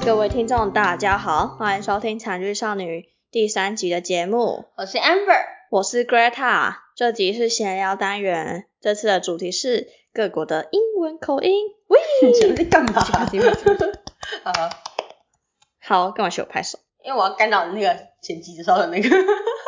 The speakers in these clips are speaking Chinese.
各位聽眾大家好，歡迎收聽慘劇少女第3集的節目。 我是 Amber， 我是 Greta。這集是閒聊單元，這次的主題是各國的英文口音。喂， 你前面在幹嘛？ 好，幹嘛學我拍手？ 因為我要干擾那個剪輯的時候的那個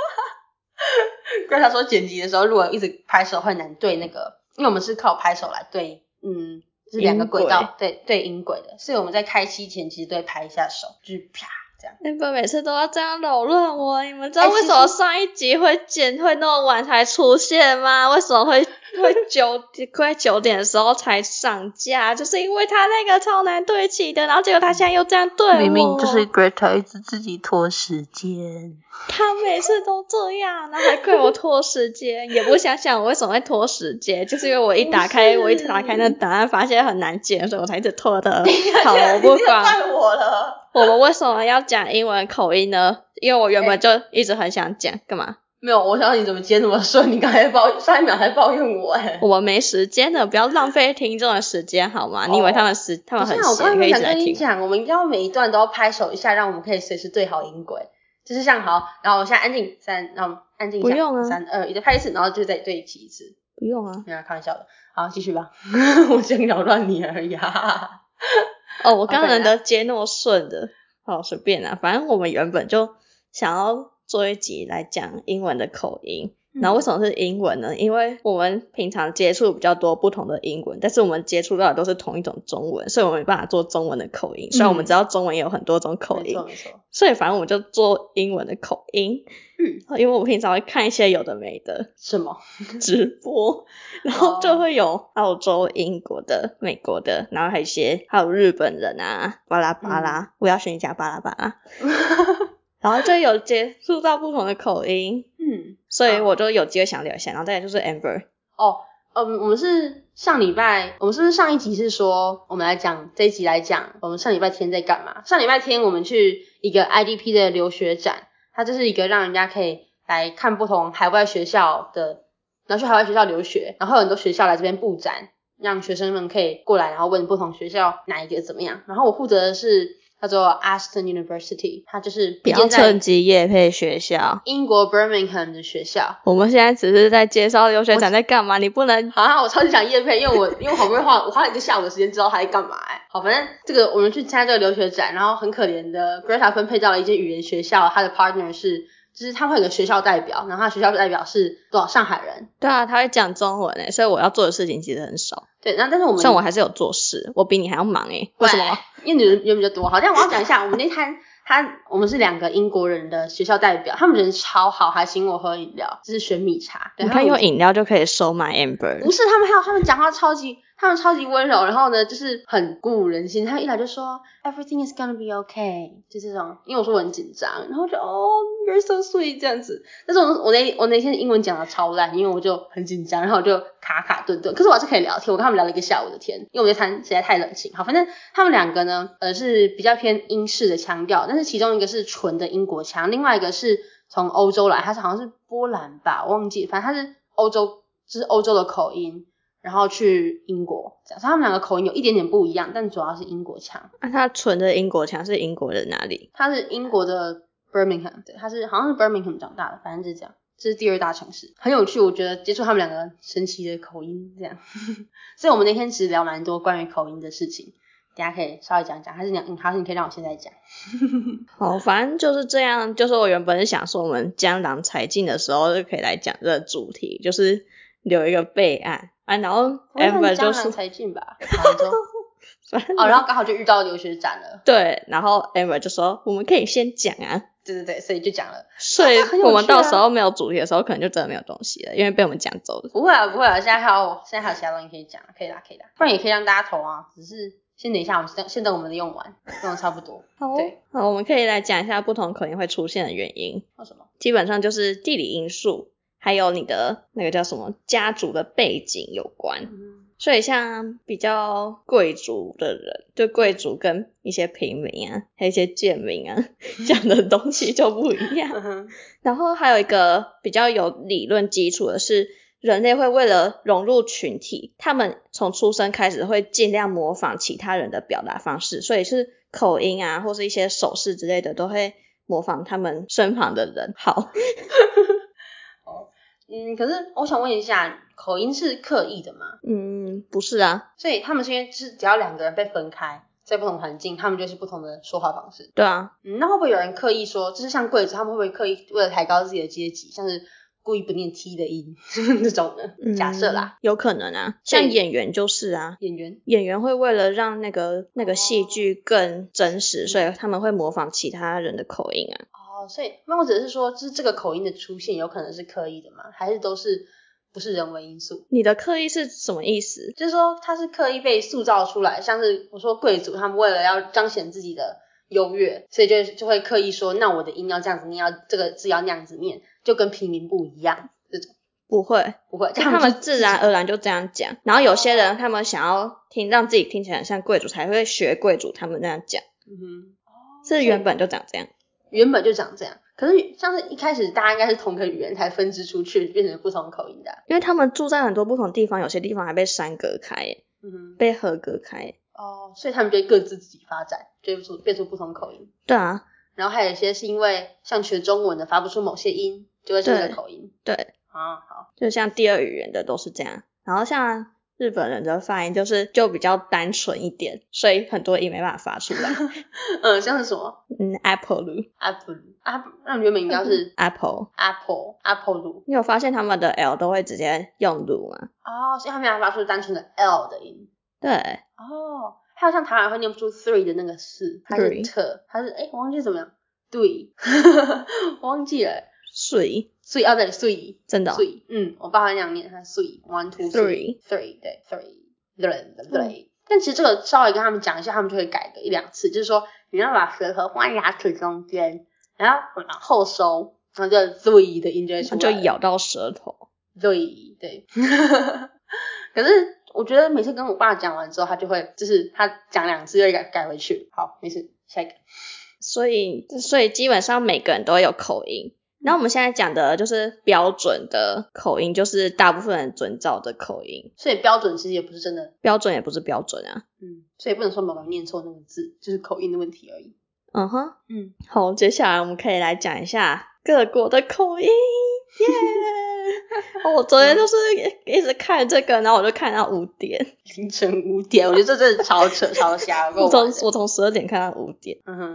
Greta 說剪輯的時候如果一直拍手會難對那個，因為我們是靠拍手來对就是兩個軌道对音軌的，所以我們在開機前其實都會拍一下手，就是啪這樣。 你們每次都要這樣擾亂我，你們知道為什麼上一集會那麼晚才出現嗎？為什麼會快9點的時候才上架？就是因為他那個超難對齊的，然後結果他現在又這樣對我。 明明就是 Greta 一直自己拖時間。 他每次都這樣，然後還怪我拖時間，也不想想我為什麼會拖時間，就是因為我一打開那檔案發現很難剪，所以我才一直拖的。好，我不管。 你我了。 我們為什麼要講英文口音呢？因為我原本就一直很想講，幹嘛？ 沒有，我想你怎麼接那麼順？你剛才上一秒還抱怨我我沒時間了，不要浪費聽眾的時間好嗎？你以為他們很閒可以一直來聽？ 我們一定要每一段都要拍手一下，讓我們可以隨時對好音軌。就是像好，然後我現在安靜3，然後安靜一下， 不用啊 3、2，1再拍一次，然後就再对齐一次。 不用啊， 没有開玩笑的。好，繼續吧。我想擾亂你而已啊。 我剛才的接那麼順的，好隨便啊，反正我們原本就想要做一集來講英文的口音。然後為什麼是英文呢？因為我們平常接觸比較多不同的英文，但是我們接觸到的都是同一种中文，所以我們没办法做中文的口音。虽然我們知道中文也有很多种口音， 没錯。 所以反正我们就做英文的口音。因為我平常會看一些有的沒的什麼直播，然後就會有澳洲、英國的、美國的，然後還有日本人啊，巴拉巴拉，我要選一下巴拉巴拉。然後就有接觸到不同的口音，所以我就有機會想聊一下。然後再來就是 Amber。 我們是上禮拜，我們是不是上一集是說我們來講這一集來講我們上禮拜天在幹嘛？上禮拜天我們去一個 IDP 的留學展，它就是一個讓人家可以來看不同海外學校的，然後去海外學校留學，然後有很多學校來這邊布展，讓學生們可以過來，然後問不同學校哪一個怎麼樣。然後我負責的是叫做 Aston University， 它就是不要趁機業配學校， 英國 Birmingham 的學校。 我們現在只是在介紹留學展在幹嘛，你不能。 好，我超級想業配，因為我好不容易我花了一個下午的時間知道他在幹嘛好，反正這個我們去參加這個留學展，然後很可憐的 Greta 分配到了一間語言學校，他的 partner 是就是他会有個學校代表，然後他學校代表是多少上海人。 對啊，他會講中文所以我要做的事情其實很少。 對，然後但是像我還是有做事，我比你還要忙為什麼？ 因為你人比較多。好，但我要講一下，我們那攤我們是2個英國人的學校代表，他們人超好，還請我喝飲料，就是選米茶。對， 你看用飲料就可以收買 Amber。 不是，他們講話超級溫柔，然後呢就是很鼓舞人心。他一來就說 Everything is gonna be okay， 就這種。因為我說我很緊張，然後就you're so sweet 這樣子。但是我那天英文講的超爛，因為我就很緊張，然後我就卡頓頓。可是我還是可以聊天，我跟他們聊了1個下午的天，因為我們那攤實在太冷清。好，反正他們2個呢是比較偏英式的腔調，但是其中一個是純的英國腔，另外一個是從歐洲來，他是好像是波蘭吧，我忘記，反正他是歐洲，就是歐洲的口音，然後去英國這樣，所以他們2個口音有一點點不一樣，但主要是英國腔。 他純的英國腔是英國的哪裡？他是英國的 Birmingham， 對，他是好像是 Birmingham 長大的，反正就是這樣，這是第2大城市，很有趣，我覺得接觸他們2個神奇的口音這樣。所以我們那天其實聊蠻多關於口音的事情，等一下可以稍微講講，還是你可以讓我現在講。 好，反正就是這樣，就是我原本是想說我們江郎才盡的時候就可以來講這個主題，就是留一個備案然後 Amber 就說江郎才盡吧然後剛好就遇到留學展了。 對，然後 Amber 就說我們可以先講啊。 對，所以就講了。 所以我們到時候沒有主題的時候可能就真的沒有東西了，因為被我們講走了。 不会啊，現在還有其他東西可以講，可以啦，不然也可以讓大家投啊，只是先等一下，我們先等我們的用完差不多。 對，好，我們可以來講一下不同口音會出現的原因。 為什麼？基本上就是地理因素，還有你的那個叫什麼家族的背景有關。所以像比較貴族的人，就貴族跟一些平民啊，還有一些賤民啊，講的東西就不一樣。然後還有一個比較有理論基礎的是，人類會為了融入群體，他們從出生開始會盡量模仿其他人的表達方式，所以是口音啊，或是一些手勢之類的，都會模仿他們身旁的人。好。 可是我想問一下，口音是刻意的嗎？ 不是啊。 所以他們是因为就是只要2個人被分開，在不同環境，他们就是不同的說話方式。 對啊。 那会不會有人刻意說，就是像貴族，他們會不會刻意為了抬高自己的階級，像是故意不念 T 的音這種的？假設啦， 有可能啊。像演員就是啊，演員會為了讓那個戲劇更真實，所以他們會模仿其他人的口音啊。 所以那我只是說，就是這個口音的出現有可能是刻意的嗎？還是都是不是人为因素？ 你的刻意是什麼意思？ 就是說它是刻意被塑造出來，像是我說貴族他們為了要彰顯自己的優越，所以就會刻意說，那我的音要這樣子念，要這個字要那樣子念，就跟平民不一樣這種。不會， 他們自然而然就這樣講。然後有些人他們想要讓自己聽起來很像貴族，才會學貴族他們那樣講。是原本就長這樣。 原本就長這樣，可是像是一開始大家應該是同個語言才分支出去，變成不同口音的。 因為他們住在很多不同地方，有些地方還被山隔開耶，被河隔開耶。 所以他們就各自己發展，就變出不同口音。 對啊。 然後還有一些是因為像學中文的發不出某些音，就會是這個口音。 對。 好。就像第二語言的都是這樣，然後像日本人的發音就比較單純一點，所以很多音沒辦法發出來。 像是什麼 ？Apple。 那原本應該是 Apple。 你你有發現他們的 L 都會直接用魯嗎？ 所以他們要發出單純的 L 的音。 對。 還有像台灣會念不出 three 的那個4，它是特，它是我忘記怎麼樣。對。我忘記了。水對水， 真的。 水，我爸會那樣念，它水 1 2 3 3，對 3，但其實這個稍微跟他們講一下，他們就會改個1-2次，就是說你要把舌頭放在牙齒中間，然後往後收，然後就水的音就會出來， 就咬到舌頭。 對。可是我覺得每次跟我爸講完之後，他就會就是他講2次又改回去。好，沒事，下一個。所以基本上每個人都會有口音。然後我們現在講的就是標準的口音，就是大部分人遵照的口音。 所以標準其實也不是真的， 標準也不是標準啊。 所以不能說某個人念錯那個字，就是口音的問題而已。 好，接下來我們可以來講一下各國的口音。耶！我昨天就是一直看這個，然後我就看到5點， 凌晨5點，我覺得這真的超扯超瞎。我從 12點看到5點，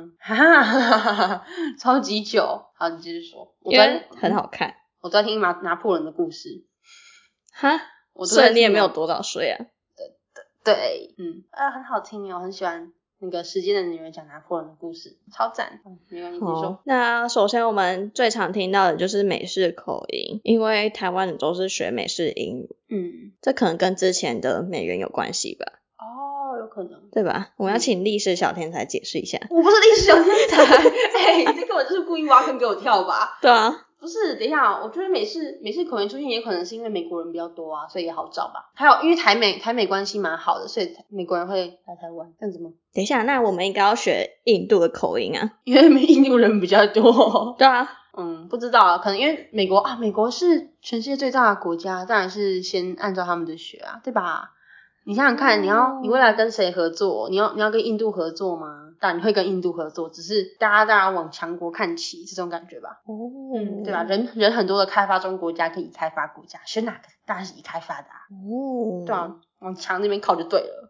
超級久。好，你繼續說。 因為很好看。 我都在聽拿破崙的故事。 所以你也沒有多早睡啊？ 對，很好聽哦，我很喜歡那個時間的女人講拿破崙的故事，超讚。沒關係，你說。 那首先我們最常聽到的就是美式口音，因為台灣人都是學美式英語。這可能跟之前的美元有關係吧？ 有可能， 對吧？我們要請歷史小天才解釋一下。 我不是歷史小天才，你這根本就是故意挖坑給我跳吧？ 對啊。 不是，等一下，我覺得美式口音出現也可能是因為美國人比較多啊，所以也好找吧。還有因為台美關係蠻好的，所以美國人會來台灣，這樣子嗎？ 等一下，那我們應該要學印度的口音啊， 因為印度人比較多。 對啊。 不知道啊，可能因為美國是全世界最大的國家，當然是先按照他們的學啊，對吧？你想想看，你未來跟誰合作？你要跟印度合作嗎？当然你會跟印度合作，只是大家当然往強國看齊，這種感覺吧。對吧？人很多的開發中國家跟已開發國家，選哪個？當然是已開發的啊。對啊，往強那邊靠就對了。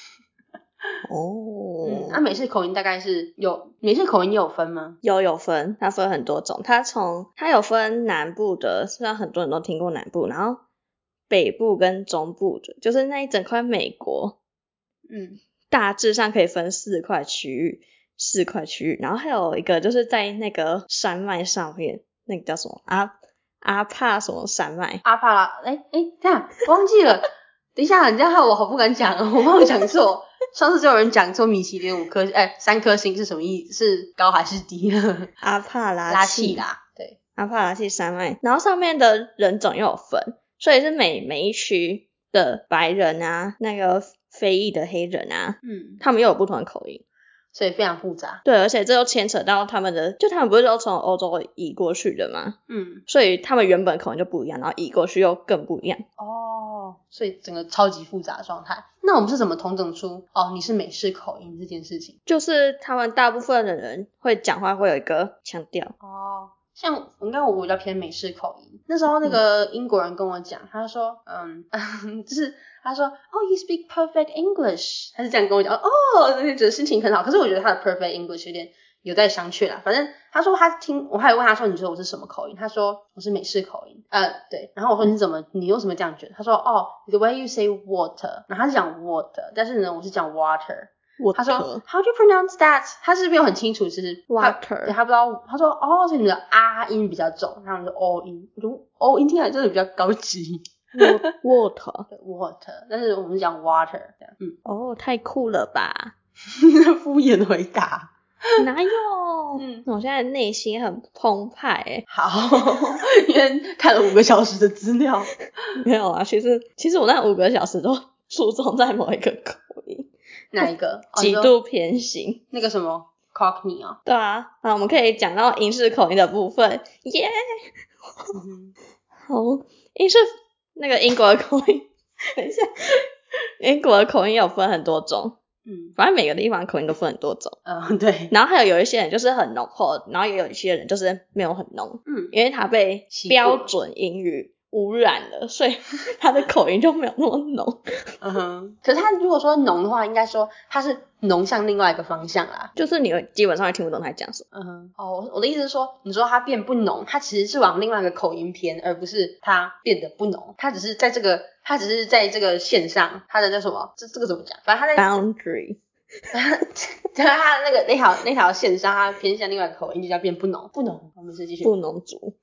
美式口音大概是美式口音有分嗎？ 有分，它分很多種。它有分南部的，雖然很多人都聽過南部，然後北部跟中部的，就是那一整塊美國。大致上可以分4塊區域，然後還有一個就是在那個山脈上面，那個叫什麼阿帕什麼山脈？ 阿帕拉，這樣我忘記了。等一下，你這樣害我好不敢講，我怕我講錯。上次就有人講說米其林3顆星是什麼意思？是高還是低呢？ 阿帕拉契啦，對，阿帕拉契山脈。然后上面的人種又有分，所以是每一區的白人啊，那個非裔的黑人啊，他們又有不同的口音， 所以非常複雜。 對，而且這又牽扯到他們不是都從歐洲移過去的嗎？所以他們原本口音就不一樣，然後移過去又更不一樣。 所以整個超級複雜的狀態。那我們是怎麼統整出你是美式口音這件事情？ 就是他們大部分的人會講話會有一個腔調。 像我比較偏美式口音。那時候那個英國人跟我講，他說就是他說you speak perfect English， 他是這樣跟我講觉得心情很好。可是我覺得他的 perfect English 有待商榷啦。反正他說我還有問他說你覺得我是什麼口音？他說我是美式口音。对。然後我說你為什麼這樣覺得？他說the way you say water， 然後他是講 water， 但是呢我是講 water。他說 How do you pronounce that？ 他是沒有很清楚，就是 water。对， 他不知道。他说所以你的音比較重，然後你的 o 音，我觉得 o 音听起來真的比較高級。 water， 对 water， 但是我們是講 water 這樣。 太酷了吧？ 敷衍回答。 哪有？我現在內心很澎湃好，因為看了5個小時的資料。 沒有啊，其實我那5個小時都注重在某一個口音。 哪一個？ 極度偏心。 那個什麼 Cockney 啊？ 對啊，我們可以講到英式口音的部分。耶、好，英式那個英國的口音，等一下，英國的口音有分很多種。反正每個地方口音都分很多種。 對。 然後還有一些人就是很濃厚，然後也有一些人就是沒有很濃。因為他被標準英語污染了，所以他的口音就沒有那麼濃。 可是他如果說濃的話，應該說他是濃向另外一個方向啦， 就是你基本上會聽不懂他講什麼。 我的意思是說，你說他變不濃，他其實是往另外一個口音偏，而不是他變得不濃，他只是在这個線上，他的叫什麼？這個怎麼講？反正他在 boundary， 他的那條線上，他偏向另外一個口音，就叫變不濃。我們是繼續不濃族。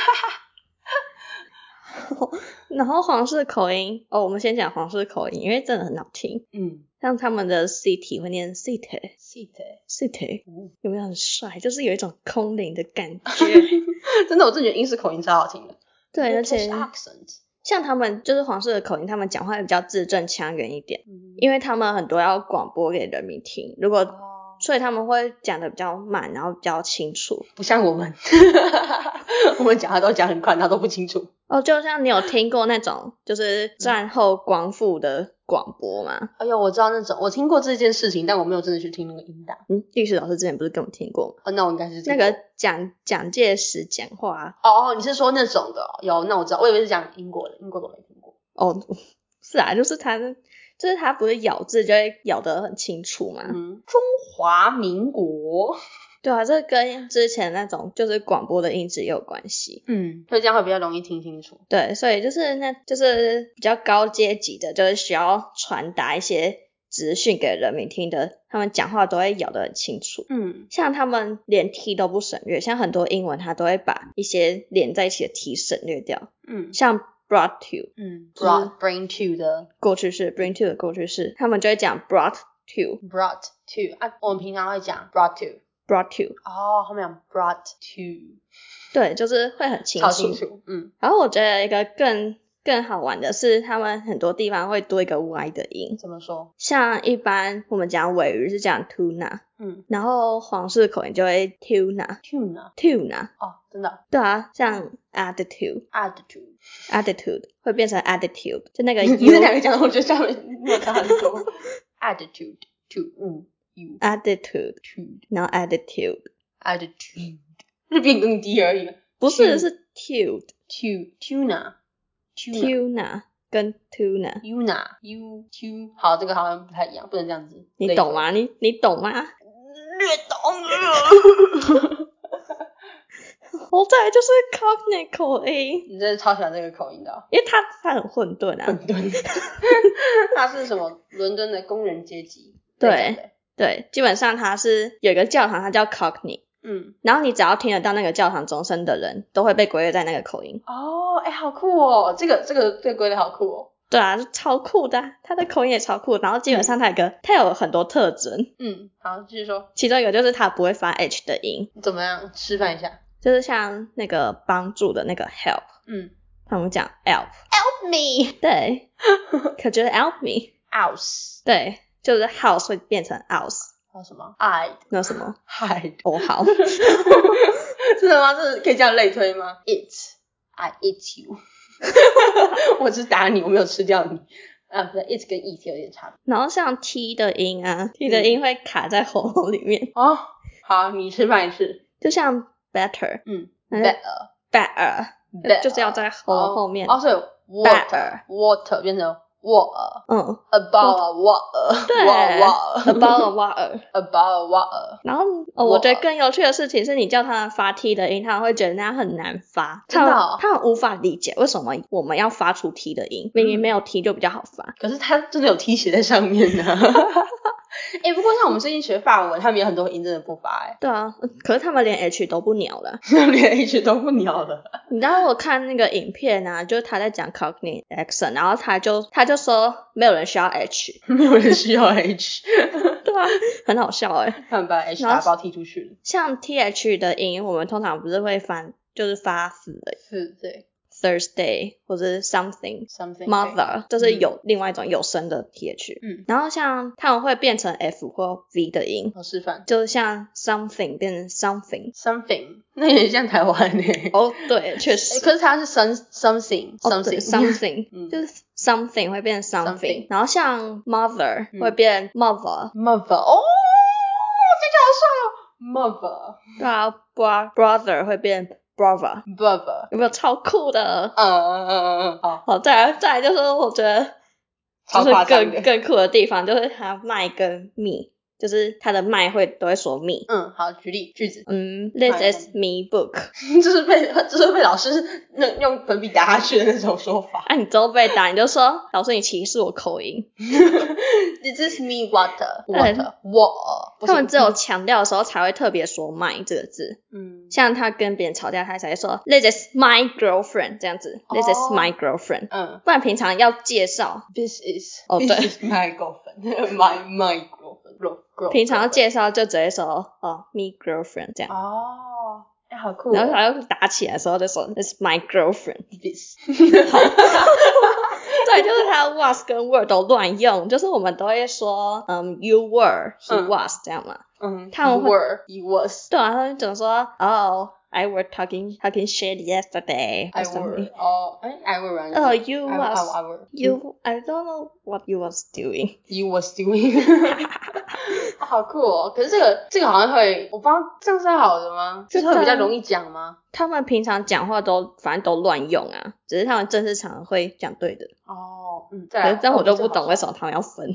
然後皇室口音我們先講皇室口音，因為真的很好聽。像他們的 city 會念 city， 有沒有很帥？就是有一種空靈的感覺。 真的，我真的覺得英式口音超好聽的。 對，而且像他們就是皇室的口音，他們講話也比較字正腔圓一點。因為他們很多要廣播給人民聽，所以他們會講的比較慢，然後比較清楚， 不像我們。我們講話都講很快，然後都不清楚。 就像你有聽過那種就是戰後光復的廣播嗎？ 我知道那種，我聽過這件事情，但我沒有真的去聽那個音檔。 歷史老師之前不是跟我聽過嗎？ 那我應該是那個蔣介石講話。 你是說那種的？有，那我知道，我以為是講英國的，英國的我沒聽過。 是啊，就是他不是咬字就會咬得很清楚嘛。 中華民國。 对啊，這跟之前那種就是廣播的音質也有關係。 所以這樣會比較容易聽清楚。 對，所以就是比較高階級的，就是需要傳達一些資訊給人民聽的，他們講話都會咬得很清楚。像他們連 t 都不省略，像很多英文他都會把一些連在一起的 t 省略掉。像 brought bring to 的過去式 bring to 的過去式，他們就會講 brought to 我們平常會講 brought to 後面講 brought to， 對，就是會很清楚， 超清楚。 然後我覺得一個更好玩的是，他們很多地方會多一個 y 的音。 怎麼說？像一般我們講鮪魚是講 tuna，然後皇室口音就會 tuna。真的？對啊，像 attitude 會變成 attitude， 就那個 u。 你這兩個講的，我覺得下面沒有差很多。attitude attitude， 然後 attitude 是變更低而已。 不是，是 tuna 跟 tuna tuna 好，這個好像不太一樣，不能這樣子。 你懂嗎？你懂嗎？ 略懂。 再來就是 Cockney 口音。 你真的超喜歡這個口音的。 因為它很混沌啊。 它是什麼？倫敦的工人階級。 對，基本上它是有一個教堂，它叫 Cockney。然後你只要聽得到那個教堂鐘聲的人，都會被歸類在那個口音。 好酷哦！這個歸類好酷哦。 對啊，超酷的啊，他的口音也超酷。然後基本上他有很多特徵。 好，繼續說。其中一個就是他不會發 H 的音。 怎麼樣？示範一下。 就是像那個幫助的那個 help。他們講 help me。 對。可就是 help me。 house。對。 就是 house 會變成 house。 还有什麼 hide？ 那什麼 hide？ 好。 真的嗎？這可以這樣類推嗎？ I eat you。 我只打你，我沒有吃掉你。啊，不对 ，it 跟 eat 有點差別。 然後像 t 的音啊，t 的音會卡在喉嚨裡面。 哦，好，你示範一次。 就像 better， better， 就是要在喉嚨後面。 所以 water 變成 water， about a water， 对 about a water。 然后我覺得更有趣的事情是你叫他們發 t 的音，他們會覺得那樣很難發， 真的哦， 他們無法理解為什麼我們要發出 t 的音，明明沒有 t 就比較好發。 可是他真的有 t 寫在上面呢。不過像我們最近學法文，他們有很多音真的不發。 對啊，可是他們連 h 都不鳥了。 連 h 都不鳥了。 你知道我看那個影片啊，就是他在講 Cockney accent， 然后他就說没有人需要 h， 沒有人需要 h。 对啊，很好笑他們把 h 打包踢出去了。像 th 的音，我們通常不是會就是發死的， 是，對。 Thursday 或者是 something mother， 就是有另外一種有聲的 th。然後像他們會變成 f 或 v 的音。 我示範。就是像 something 变成 something， 那也像台灣耶。 對，確實。 可是它是 something， 就是 something 會變成 something。然後像 mother 會變 mother。 哦，這就好帥哦 ，mother。 對啊 brother 會變brother， 有沒有超酷的？好，再來就是我覺得就是更酷的地方，就是它 my 跟 me， 就是它的 my 都會說 me。 好，舉例句子。 This is me book。 這是被老師用粉筆打下去的那種說法。 你之後被打，你就說老師你歧視我口音。 This is me water。 他們只有強調的時候才會特別說 my 這個字。像他跟別人吵架，他才會說 This is my girlfriend 這樣子。This is my girlfriend。不然平常要介紹 This is my girlfriend。my girlfriend。 平常要介紹就直接說me girlfriend 這樣。 好酷。 然後還要打起來的時候就說 This is my girlfriend。好。对，就是他 was 跟 were 都亂用，就是我們都會說you were he was 這樣嘛。他們會 he was。對啊，他們總說I were talking shit yesterday or something. I were running. You was. I don't know what you was doing. You was doing. 好酷哦！可是這個好像會，我不知道這樣是好的嗎？就是會比較容易講嗎？ 他們平常講話反正都亂用啊，只是他們正式場合會講對的。可是這樣我就不懂為什麼他們要分。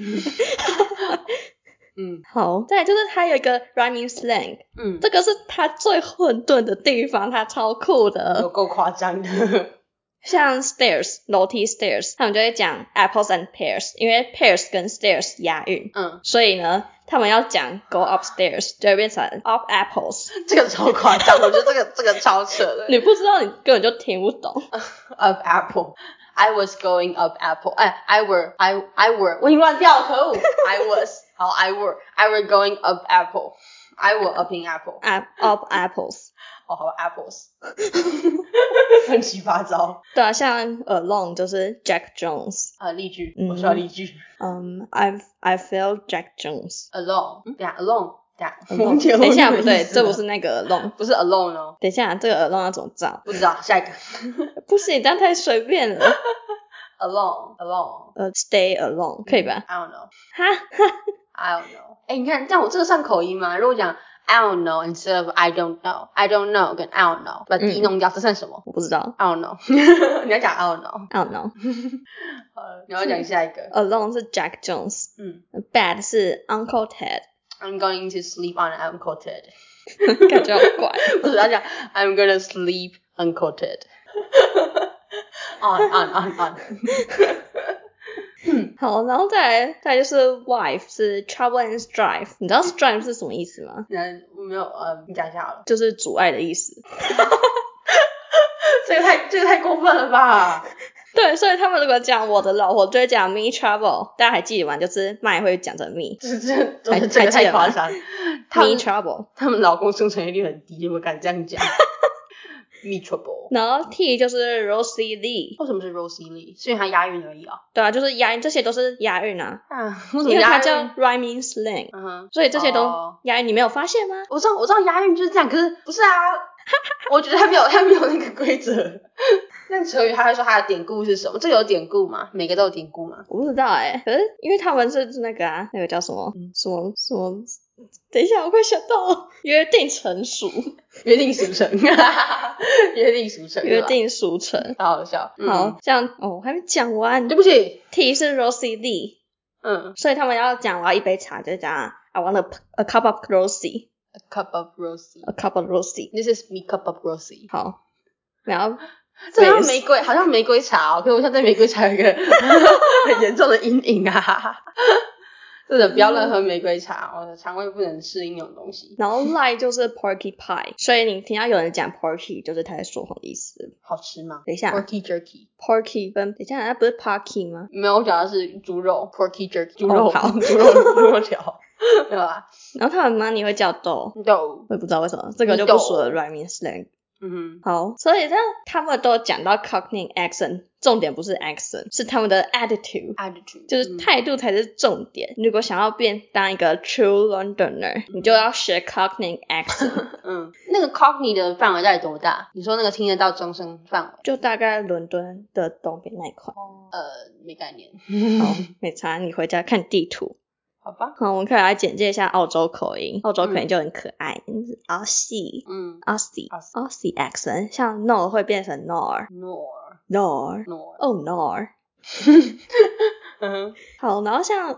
好，再來就是它有一個 rhyming slang，這個是它最混沌的地方，它超酷的， 有夠誇張的。 像 stairs 樓梯 stairs， 他們就會講 apples and pears， 因為 pears 跟 stairs 押韻，所以呢，他們要講 go upstairs 就會變成 up apples。 這個超誇張，我覺得這個超扯的。 你不知道，你根本就聽不懂。 up apple。I was going up apple. I were. 我已經亂掉了，可惡。I were going up apple. I were upping apple. Up apples. Apples. 亂七八糟。 對啊，像 alone 就是 Jack Jones。 例句，我需要例句。 I feel Jack Jones. Alone. 等一下 alone。 等一下，不對，這不是那個 alone， 不是 alone 哦。 等一下，這個 alone 要怎麼造？ 不知道，下一個。 不行，這樣太隨便了。 alone。 stay alone 可以吧？ I don't know。I don't know。你看，這樣我這個算口音嗎？如果講 I don't know instead of I don't know，I don't know 跟 I don't know 把 D 弄掉，這算什麼？ 我不知道。 I don't know。你要講 I don't know。 I don't know。 好，你要講下一個。 alone 是 Jack Jones。bad 是 Uncle Ted。I'm going to sleep on Uncle Ted。 感覺好怪。 不是，要講 I'm gonna sleep Uncle Ted。on。 好，然後再來就是 wife 是 trouble and strife， 你知道 strife 是什麼意思嗎？ 沒有，你講一下好了。 就是阻礙的意思。 這個太過分了吧？ 對，所以他們如果講我的老婆就會講 me trouble， 大家還記得嗎？就是 my 會講成 me， 這個太誇張。 me trouble， 他們老公生存率很低，我敢這樣講。me trouble。 然後 T 就是 Rosie Lee。 為什麼是 Rosie Lee？是因為它押韻而已啊。 對啊，就是押韻，這些都是押韻啊。 為什麼押韻？ 因為它叫 rhyming slang，所以這些都押韻，你沒有發現嗎？ 我知道押韻就是這樣，可是不是啊。我覺得他沒有那個規則。 那成語他會說他的典故是什麼？這個有典故嗎？每個都有典故嗎？ 我不知道可是因為他們是那個那個叫什麼什麼，等一下我快想到了，約定成熟， 约定俗成，约定俗成， 约定俗成， 好好笑。 好，这樣我還沒講完， 對不起 ，T 是 Rosie Lee，所以他們要講我要一杯茶，就講 I want a cup of Rosie。A cup of Rosie. This is me cup of Rosie. 好，然後这好像玫瑰，好像玫瑰茶哦。可是我现在对玫瑰茶有一個很嚴重的陰影啊！真的不要亂喝玫瑰茶，我的腸胃不能適應那種東西。 然後 lie 就是 porcupine， 所以你聽到有人講 porky 就是他在說謊的意思。 好吃嗎？ 等一下 ，porky jerky。porky 等一下，那不是 parky 嗎？ 沒有，我講的是豬肉 porky jerky， 豬肉， 好， 豬肉條。沒有啦。 然後他們 money 會叫 dough， 我也不知道為什麼，這個就不屬於 rhyming slang。好，所以他們都講到 Cockney accent， 重點不是 accent， 是他們的 attitude， 就是態度才是重點。如果想要當一個 true Londoner， 你就要學 Cockney accent。 那個 Cockney 的範圍到底多大？你說那個聽得到鐘聲範圍？ 就大概倫敦的東邊那一塊。 沒概念。 好，沒差，你回家看地圖。 好吧， 我們可以來簡介一下澳洲口音。澳洲口音就很可愛，Aussie accent， 像 no 會變成 nor， oh nor。好，然後像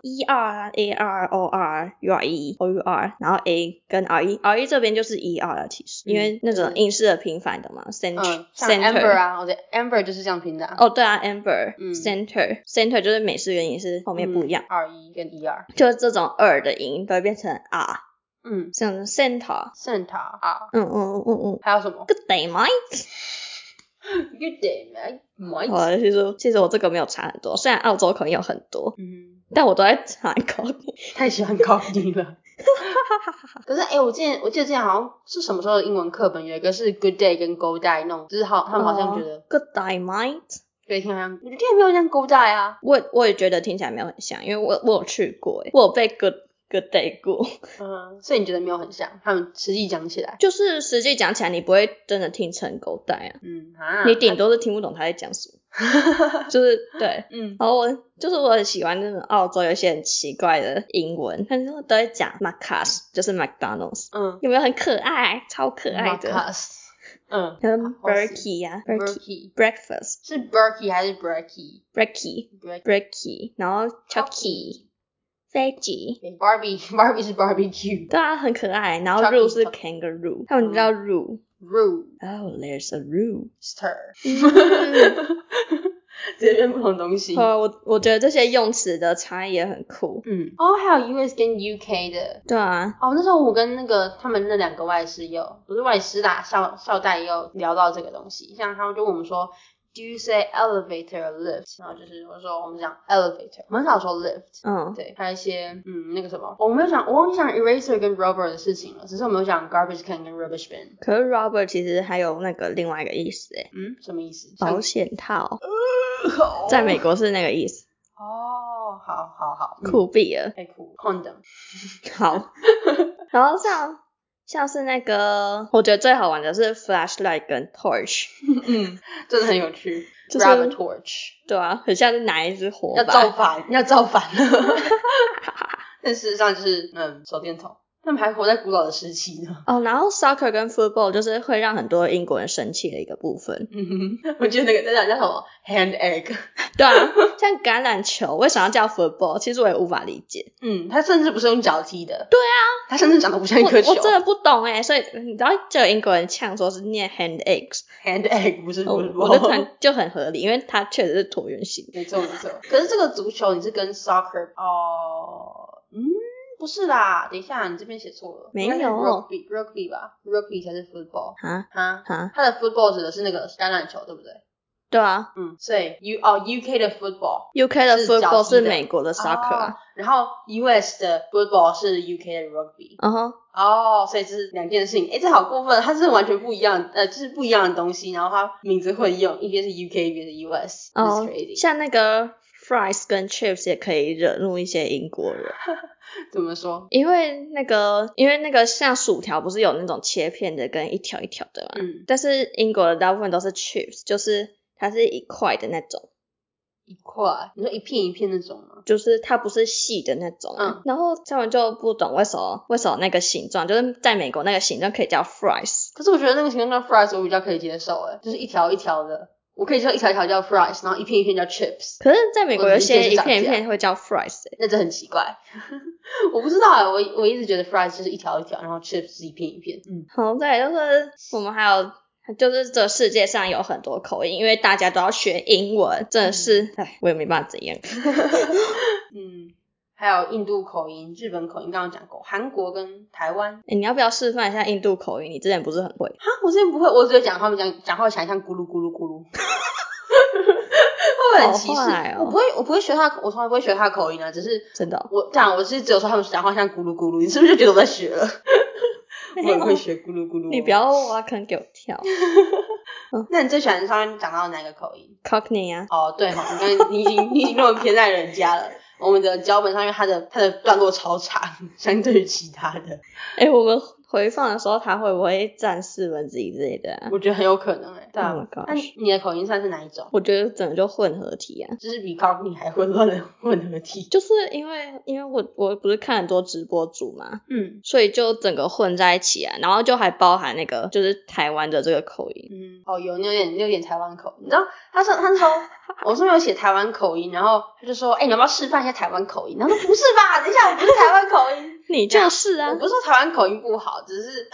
ER、AR、OR、URE、OUR， 然後 A 跟 RE 這邊就是 ER 了，其實，因為那種英式的平反的嘛，center， 像 Amber 啊，我的 Amber 就是這樣拼的啊。 對啊 ，Amber，center 就是美式元音是後面不一樣 ，RE 跟 ER， 就是這種的音都會變成 R， 像 center R， 還有什麼 ？Good day mate。Good day, mate。其實我這個沒有差很多，雖然澳洲口音有很多，但我都在查 Cockney， 太喜歡 Cockney 了。可是我記得之前好像是什麼時候的英文課本有一個是 Good day 跟 Go die 那種，就是他們好像覺得 Good day, mate。 對，聽起來我覺得聽起來沒有像 Go die 啊。 我也覺得聽起來沒有很像，因為我有去過，我有被 Good day 過。 所以你覺得沒有很像？他們實際講起來， 就是實際講起來，你不會真的聽成狗帶啊。你頂多是聽不懂他在講什麼。就是對，然後我很喜歡那種澳洲有一些很奇怪的英文，他們都在講 Macca's， 就是 McDonald's。有沒有很可愛？超可愛的。 Macca's。 跟 Berkey 啊 ，Berkey breakfast 是 Berkey 還是 Brekkie？Brekkie， 然後 Chucky。Veggie， Barbie 是 barbecue， 对啊，很可愛。然後 Roo 是 kangaroo， 他們叫 Roo。Oh, there's a rooster。 這邊不同東西。 我覺得這些用詞的差異也很酷。 還有 US 跟 UK 的。對啊。那時候我跟他們那兩個外師不是外師啦，校代也有聊到這個東西，像他們就問我們說。Do you say elevator or lift？ 然後就是我說我們講 elevator， 我們很少說 lift。對，還有一些那個什麼，我忘記講 eraser 跟 rubber 的事情了，只是我沒有講 garbage can 跟 rubbish bin。 可是 rubber 其實還有那個另外一個意思什麼意思？ 保險套。在美國是那個意思。 好， 酷斃了， 太酷 ，condom。 好，然後像是那個，我覺得最好玩的是 flashlight 跟 torch。 真的很有趣。Grab a torch。对啊，很像是拿一支火把。 要造反了。但事實上就是手電筒。他們還活在古老的時期呢。然後 soccer 跟 football 就是會讓很多英國人生氣的一個部分。 我覺得那個叫什麼 hand egg。 對啊，像橄欖球為什麼要叫 football？其實我也無法理解。 他甚至不是用腳踢的。 對啊， 他甚至長得不像一顆球。 我真的不懂所以你知道就有英國人嗆說是念 hand eggs。hand egg 不是 football。 我的團就很合理，因為它確實是橢圓形。 沒錯。可是這個足球你是跟 soccer 不是啦，等一下，你這邊寫錯了。 沒有 rugby 吧 ，rugby 才是 football。它的 football 指的是那個橄欖球，對不對？ 對啊。 所以UK 的 football 的 football 是美國的 soccer， 然後 US 的 football 是 UK 的 rugby。所以这是兩件事情。這好過分，它是完全不一樣，就是不一樣的東西，然後它名字混用，一邊是 UK， 一邊是 US。 像那個 fries 跟 chips 也可以惹怒一些英國人。 怎麼說？ 因為那個像薯條不是有那種切片的跟一條一條的嘛？但是英國的大部分都是 chips，就是它是一塊的那種。 一塊？你說一片一片那種吗？ 就是它不是細的那種然後他们就不懂为什麼那個形狀，就是在美國那個形狀可以叫 fries。 可是我覺得那個形狀叫 fries 我比較可以接受就是一條一條的，我可以接受一條一條叫 fries， 然後一片一片叫 chips。 可是在美國有些一片一片會叫 fries 那這很奇怪。我不知道我一直覺得 fries 就是一條一條，然後 chips 是一片一片。 好，再來就是我們還有就是這世界上有很多口音，因為大家都要學英文，真的是我也沒辦法怎樣。 還有印度口音、日本口音，剛剛講過，韓國跟台灣。 你要不要示範一下印度口音？你之前不是很會？ 我之前不會，我只會講他們講話起來像咕嚕咕嚕咕嚕。會不會很歧視？我不會學他，我從來不會學他的口音只是真的我是只有說他們講話像咕嚕咕嚕，你是不是就覺得我在學了？我也會學咕嚕咕嚕。 你不要挖坑給我跳。 那你最喜歡上面講到哪個口音 ？Cockney 啊。 對你已經那麼偏愛人家了。我們的腳本上面它的段落超長，相對於其他的。 我們回放的時候它會不會占1/4之類的我覺得很有可能對啊。那你的口音算是哪一種？ 我覺得整個就混合體就是比 Cockney 還混亂的混合體。 就是因為我不是看很多直播主嘛所以就整個混在一起然後就還包含那個就是台灣的這個口音。 有點台灣口音。你知道他說我上面有寫台灣口音，然後他就說你要不要示範一下台灣口音？然後說不是吧，等一下我不是台灣口音。 你就是我不是說台灣口音不好，只是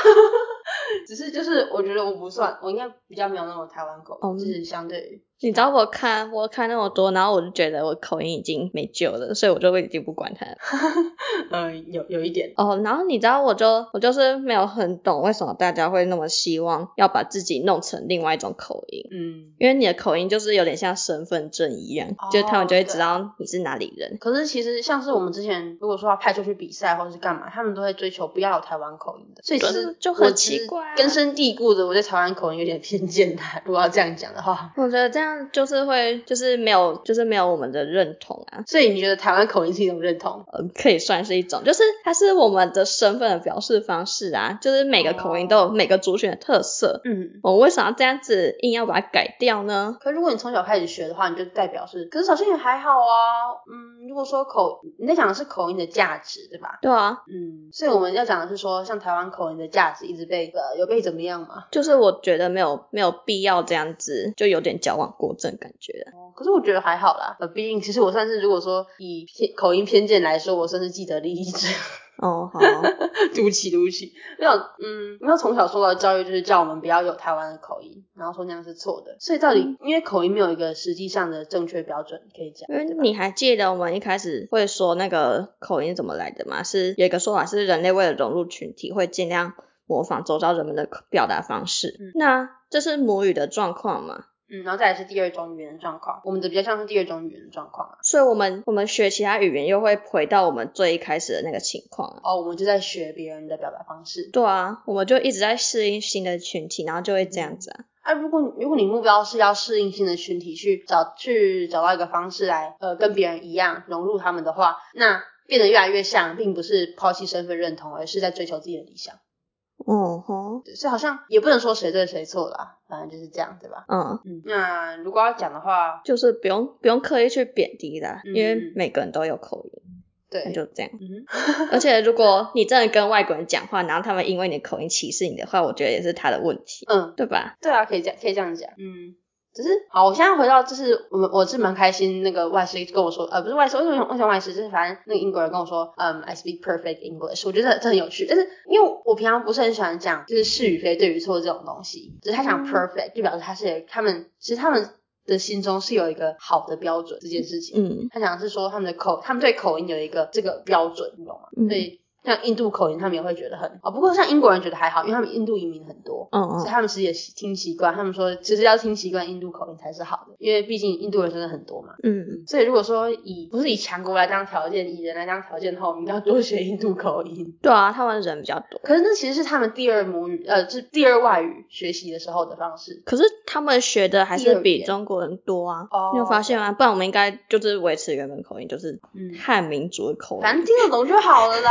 就是我覺得我不算，我應該比較沒有那種台灣口音就是相对於你知道我看那麼多，然後我就覺得我口音已經沒救了，所以我就已經不管它了。 有一點然後你知道我就是沒有很懂為什麼大家會那麼希望要把自己弄成另外一種口音。因為你的口音就是有點像身份證一樣就是他們就會知道你是哪裡人。 可是其實像是我們之前如果說要派出去比賽或者是幹嘛，他們都會追求不要有台灣口音的，所以其實就很奇怪根深蒂固的我对台灣口音有點偏見如果要這樣講的話， 我覺得這樣就是没有我們的認同所以你覺得台灣口音是一種認同？ 可以算是一種，就是它是我們的身份的表示方式就是每個口音都有每個族群的特色。我為什麼要這樣子硬要把它改掉呢？ 可如果你從小開始學的話，你就代表是，可是好像也還好如果說你在講的是口音的價值對吧？ 對啊。 所以我們要講的是說像台灣口音的價值一直被怎麼樣嘛？ 就是我覺得没有必要這樣子，就有點矯枉過正感覺。 可是我覺得還好啦，畢竟其實我算是如果說以口音偏見來說，我算是既得利益者。 好。 对不起。没有從小受到的教育就是叫我們不要有台灣的口音，然後說那樣是錯的。所以到底因為口音沒有一個實際上的正確標準可以講。 因為你還記得我們一開始會說那個口音怎麼來的嗎？是有一個說法是人類為了融入群體會盡量模仿周遭人們的表達方式。那這是母語的狀況嗎？ 然後再來是第二種語言的狀況，我們的比較像是第二種語言的狀況所以我們學其他語言又會回到我們最一開始的那個情況我們就在學別人的表達方式。 對啊，我們就一直在適應新的群體，然後就會這樣子如果你目標是要適應新的群體，去找到一個方式來跟別人一樣融入他們的話，那變得越來越像，並不是拋棄身份認同，而是在追求自己的理想。所以好像也不能說誰對誰錯啦，反正就是這樣對吧？那如果要講的話， 就是不用刻意去貶低啦，因為每個人都有口音。 对， 那就這樣。而且如果你真的跟外國人講話，然後他們因為你的口音歧視你的話，我覺得也是他的問題。對吧？ 對啊，可以這樣講。只是好，我現在回到就是我是蠻開心，那個外師跟我說，不是外師，為什麼外師？就是反正那個英國人跟我說，I speak perfect English， 我覺得這很有趣。但是因為我平常不是很喜歡講就是是與非、對與錯這種東西，只是他講 perfect 就表示他們的心中是有一個好的標準這件事情。他講的是說他們對口音有一個這個標準，你懂嗎？所以像印度口音他們也會覺得很不過像英國人覺得還好，因為他們印度移民很多，所以他們其實也聽習慣，他們說其實要聽習慣印度口音才是好的，因為畢竟印度人真的很多嘛。所以如果說不是以強國來當條件，以人來當條件的話，我們應該要多學印度口音。對啊， 他们人比較多， 可是那其實是他們第二母語就是第二外語學習的時候的方式。 可是他們學的還是比中國人多啊。你有發現嗎？不然我們應該就是維持原本口音，就是漢民族的口音， 反正聽得懂就好了啦。真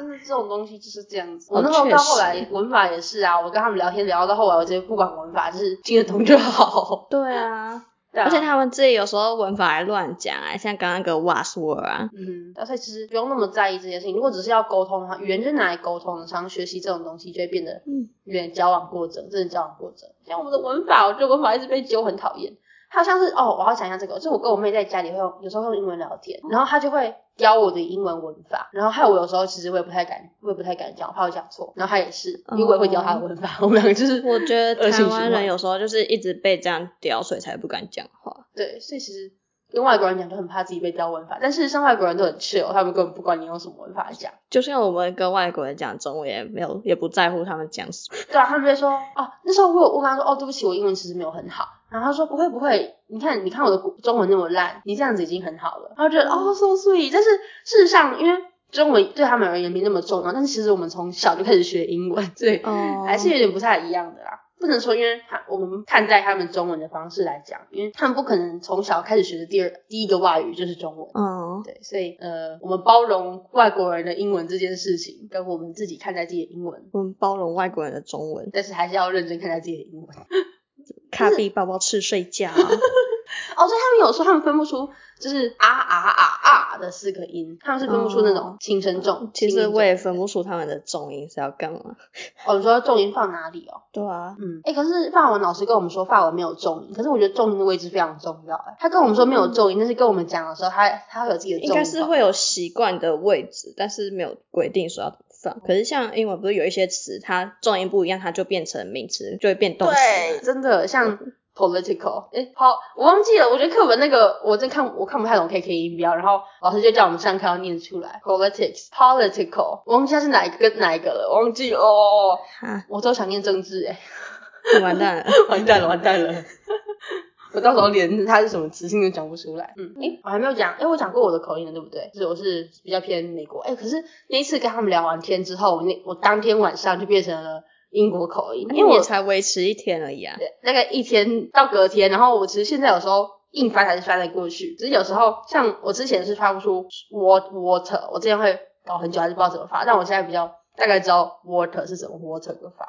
真的這種東西就是這樣子。我那時候到後來文法也是啊，我跟他們聊天聊到後來，我直接不管文法，就是聽得懂就好。 对啊。而且他們自己有时候文法還亂講像剛剛那個 was were 啊。 所以其實不用那麼在意這件事情。如果只是要溝通的話，語言就是拿來溝通的，常學習這種東西就會變得有點矯枉過正，真的矯枉過正。像我們的文法，我覺得文法一直被揪很討厭。還有像是我要講一下這個，就是我跟我妹在家裡會有時候用英文聊天，然後她就會教我的英文文法，然後害我有时候其實我也不太敢講，我怕我講錯，然後她也是，因為我也會教她的文法，我們兩個就是我覺得台灣人有時候就是一直被這樣刁，所以才不敢講話。 對，所以其實跟外國人講就很怕自己被刁文法，但事實上外國人都很 chill， 他們根本不管你用什麼文法講。就像我們跟外国人講中文也不在乎他們講什麼。 对啊，他们就會說那時候我跟他說對不起，我英文其實沒有很好。然後他說不會，你看我的中文那麼爛，你這樣子已經很好了。然後覺得so sweet，但是事實上因為中文對他們而言沒那麼重要，但是其實我們從小就開始學英文，所以還是有點不太一樣的啦。不能說因為我們看待他們中文的方式來講，因為他們不可能從小開始學的第一個外語就是中文。對，所以我們包容外國人的英文這件事情，跟我們自己看待自己的英文， 我們包容外國人的中文， 但是還是要認真看待自己的英文。 卡比宝寶吃睡覺所以他們有時候他們分不出就是的四個音，他們是分不出那種輕聲重。 其實我也分不出他們的重音是要幹嘛。 你說重音放哪裡对啊。 可是法文老師跟我們說法文沒有重音，可是我覺得重音的位置非常重要。他跟我們說沒有重音，但是跟我們講的時候他會有自己的重音。 應該是會有習慣的位置，但是沒有規定說要放。可是像英文不是有一些詞它重音不一樣，它就變成名詞，就會變動詞。 對，真的像political，我忘記了，我觉得課本那個我看不太懂 KK 音標，然後老師就叫我們上課要念出來 political， 我忘記它是哪一個跟哪一個了，我忘記了我都想念政治完蛋了完蛋了我到時候連它是什麼詞性都講不出來。我還沒有講，我講過我的口音了對不對？就是我是比較偏美國。可是那一次跟他們聊完天之後，我當天晚上就變成了英國口音，因为我才維持1天而已啊。 对，大概1天到隔天，然後我其實現在有時候硬翻還是翻得過去，只是有時候像我之前是發不出 water， 我之前會搞很久還是不知道怎麼發，但我現在比較大概知道 water 是怎麼 water 的發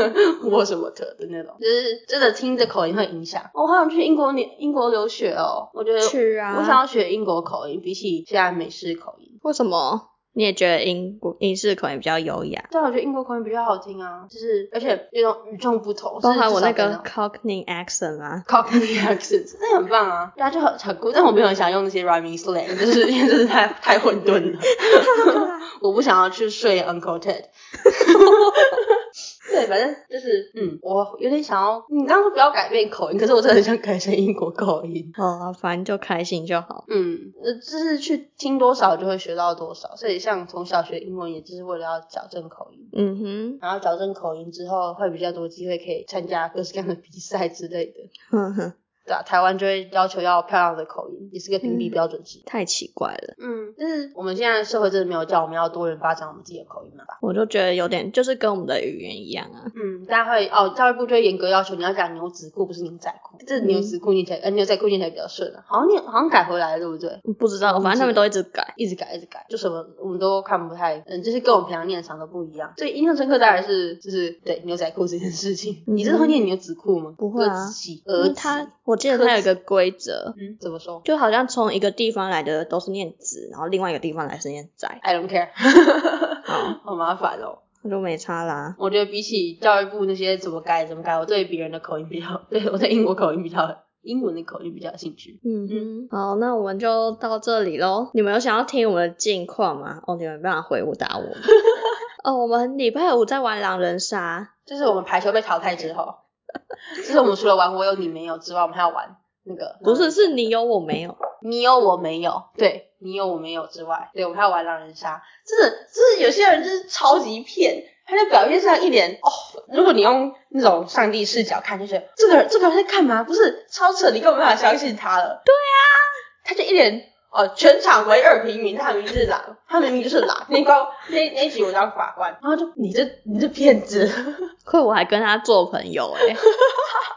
water 的那種，就是真的聽着口音會影響。我好想去英國留學我覺得去啊， 我想要學英國口音，比起現在美式口音。 為什麼？你也覺得英式口音比較優雅？ 對，我覺得英國口音比較好聽啊，就是而且有種與眾不同， 包含我那個 Cockney accent 啊 ，Cockney accent 那很棒啊，大家就很酷，但我沒有很想用那些 rhyming slang，就是因為這是太混沌了，我不想要去睡 Uncle Ted。对，反正就是我有點想要你剛剛說不要改變口音，可是我真的很想改成英國口音。 反正就開心就好。 就是去聽多少就會學到多少，所以像從小學英文也就是為了要矯正口音。然後矯正口音之後會比較多機會可以參加各式各樣的比賽之類的。對啊，台灣就會要求要漂亮的口音，也是個評比標準值。 太奇怪了。 就是我們現在社會真的沒有叫我們要多元發展我們自己的口音了吧？ 我就覺得有點就是跟我們的語言一樣啊。 大家會教育部就會嚴格要求你要講牛仔褲不是牛仔褲，這牛仔褲念起來牛仔褲念起來比較順啊。好像改回來了對不對？ 不知道，反正他們都一直改， 就什麼我們都看不太就是跟我們平常念的常都不一樣。所以印象深刻當然是就是對牛仔褲這件事情。你真的會念牛仔褲嗎？ 不會啊，我記得它有一個規則。 怎麼說？ 就好像從一個地方來的都是念子，然後另外一個地方來是念仔。 I don't care。好麻煩哦。 那就沒差啦。 我覺得比起教育部那些怎麼改，我對別人的口音我對英國口音英文的口音比較有興趣。 好，那我們就到這裡咯。你們有想要聽我們的近況嗎？你們沒辦法回答我。我們禮拜5在玩狼人殺， 就是我們排球被淘汰之後，就是我們除了玩我有你沒有之外，我們還要玩那個不是你有我沒有， 你有我沒有，对，你有我沒有之外，对，我们還要玩狼人殺。真的就是有些人就是超級騙，他就表面上一臉如果你用那種上帝視角看，就覺得這個人在幹嘛？不是超扯，你根本沒辦法相信他了。对啊，他就一臉全場唯二平民，他明明就是狼，那一局我當法官，然後就你這騙子， 虧我還跟他做朋友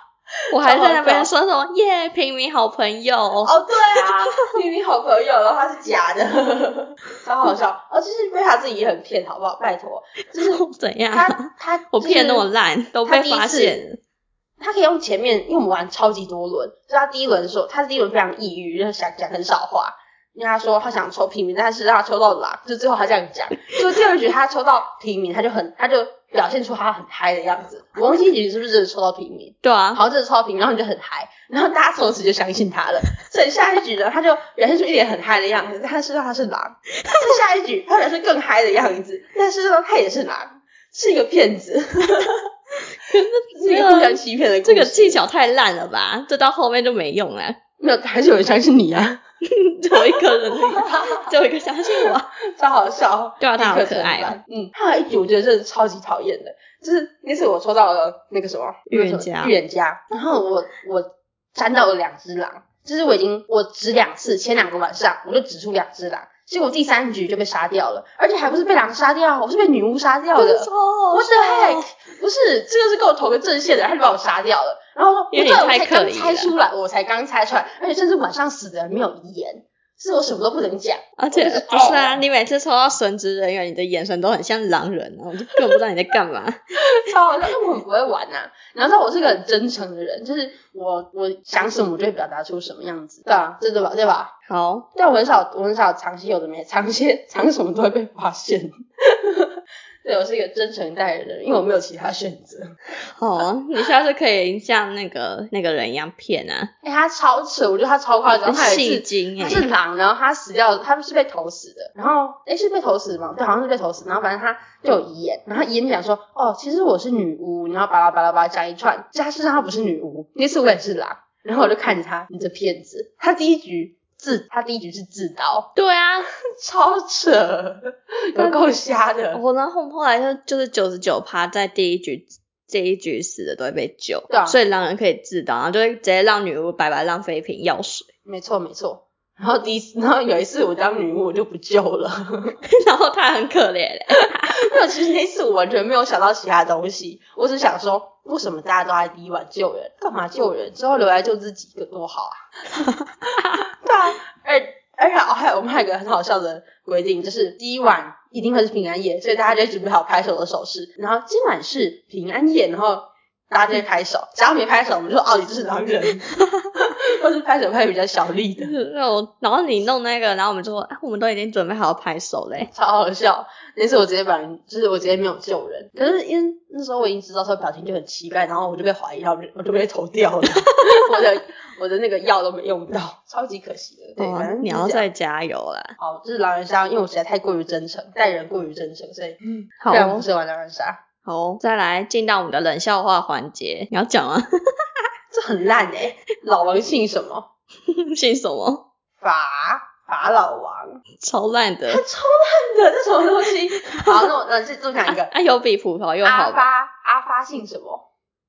我還在那邊說什麼耶，平民好朋友。 哦，對啊，平民好朋友，然後他是假的，超好笑。就是贝塔自己也很騙，好不好？拜託，就是怎樣？ 他我騙那麼爛，都被發現了。 他可以用前面，因为我们玩超級多輪，所以他第一輪說，他第一輪非常抑鬱，就是想講很少話。因為他說他想抽平民，但是讓他抽到狼，就最後他這樣講。所以第二局他抽到平民，他就表現出他很嗨的樣子。我忘記一局是不是真的抽到平民？ 對啊， 好像真的抽到平民，然後你就很嗨，然後大家從此就相信他了。所以下一局呢，他就表現出一臉很嗨的樣子，但是他是狼。在下一局他表現更嗨的樣子，但是呢他也是狼，是一個騙子。是一個互相欺騙的故事。 這個技巧太爛了吧？這到後面就沒用了。 沒有，還是有人相信你啊。 只有一個人，只有一個相信我， 超好笑。 对啊，他好可愛哦。 还有一局我觉得真的超级討厭的，就是那次我抽到了那個什麼預言家， 然後我沾到了2隻狼，就是我指2次，前2個晚上我就指出2隻狼，結果第3局就被殺掉了，而且還不是被狼殺掉，我是被女巫殺掉的。What the heck？ 不是，這個是跟我同個陣線的，他就把我殺掉了。然後我說，我才剛猜出來，而且甚至晚上死的人沒有遺言，是我什麼都不能講。而且不是啊，你每次抽到神職人員，你的眼神都很像狼人啊，我就根本不知道你在幹嘛。 超好笑，因為我很不會玩啊。然後我是個很真誠的人，就是我想什麼我就會表達出什麼樣子，對啊，對吧？ 好， 但我很少藏些有的沒藏什麼都會被發現。对，我是一個真誠待人的人，因為我沒有其他選擇。 哦，你下次可以像那個人一樣騙啊。 他超扯，我覺得他超誇張。他戲精他是狼，然後他死掉，他是被投死的。然後是被投死嗎？對，好像是被投死。然後反正他就有遺言，然後他遺言講說，其實我是女巫，然後巴拉巴拉巴拉講一串。其實他事實上他不是女巫，那次我也是狼。然後我就看着他，你這騙子。他第一局是自刀。對啊，超扯，有夠瞎的。 然後後來就是 99% 在這一局死的都會被救。 對啊， 所以狼人可以自刀，然後就會直接讓女巫白白浪費一瓶藥水。 沒錯。然後有一次我當女巫我就不救了。 然後他很可憐沒有，其實那次我完全沒有想到其他東西，我只想說為什麼大家都在第一晚救人，幹嘛救人之後留來救自己個多好啊。對啊，而且我們還有一個很好笑的規定，就是第一晚一定會是平安夜，所以大家就準備好拍手的手勢，然後今晚是平安夜，然後大家就會拍手，只要沒拍手我們就說你這是狼人。或是拍手拍比較小力的。 然後你弄那個，然後我們就說我們都已經準備好拍手嘞， 超好笑。那次我直接我直接沒有救人，可是因為那時候我已經知道他表情就很奇怪，然後我就被懷疑，然後我就被投掉了。我的那個藥都沒用到，超級可惜的。對，反正你要再加油啦。 好，這是狼人殺，因為我實在太過於真誠，待人過於真誠，所以非常不適合玩狼人殺。 好，再來進到我們的冷笑話環節，你要講嗎？ 這很爛欸，老王姓什麼？ 姓什麼？ 法老王， 超爛的， 超爛的，這什麼東西？好，那我再講一個。 有比葡萄又好。 阿發姓什麼？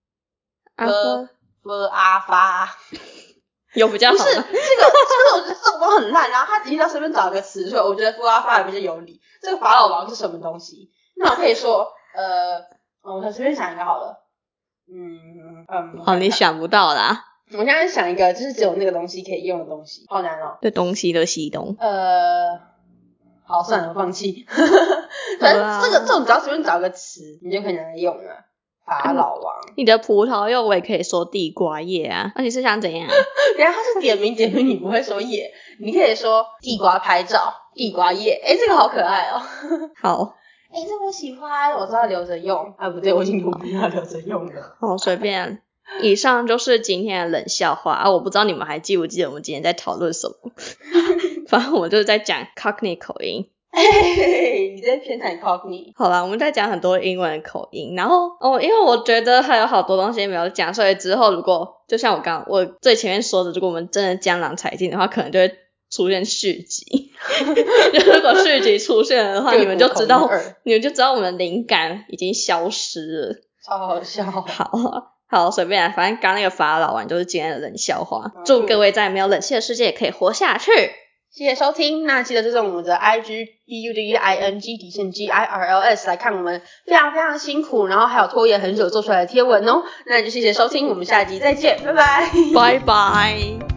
阿發， 有比較好嗎？ 不是這個，我覺得這種都很爛。然後他一定要隨便找一個詞，所以我覺得阿發也比較有理。這個法老王是什麼東西？那我可以說，我隨便想一個好了。 你想不到啦。 我現在想一個，就是只有那個東西可以用的東西，好難哦。 對，東西的西東。 好，算了，我放棄。反正这種只要隨便找個詞，你就可以拿來用了。法老王。你的葡萄柚我也可以說地瓜葉啊。那你是想怎樣？等一下他是點名，你不會說葉，你可以說地瓜拍照，地瓜葉。這個好可愛哦。好。這個我喜歡，我知道留着用。不對，我已經不要留着用了。好，隨便。以上就是今天的冷笑話我不知道你們還記不記得我們今天在討論什麼。反正我們就是在講 Cockney 口音。你在偏袒 Cockney。好啦，我們在講很多英文口音，然後因為我覺得還有好多東西沒有講，所以之後如果就像我最前面說的，如果我們真的江郎才盡的話，可能就會出現續集。如果續集出現的話，你們就知道我們的靈感已經消失了。超好笑。好，隨便來，反正剛那個法老王就是今天的冷笑話。祝各位在沒有冷氣的世界也可以活下去。 謝謝收聽，那記得追蹤我們的 IG BUDING_GIRLS 來看我們非常非常辛苦，然後還有拖延很久做出來的貼文哦。那就謝謝收聽，我們下集再見，拜拜， 拜拜。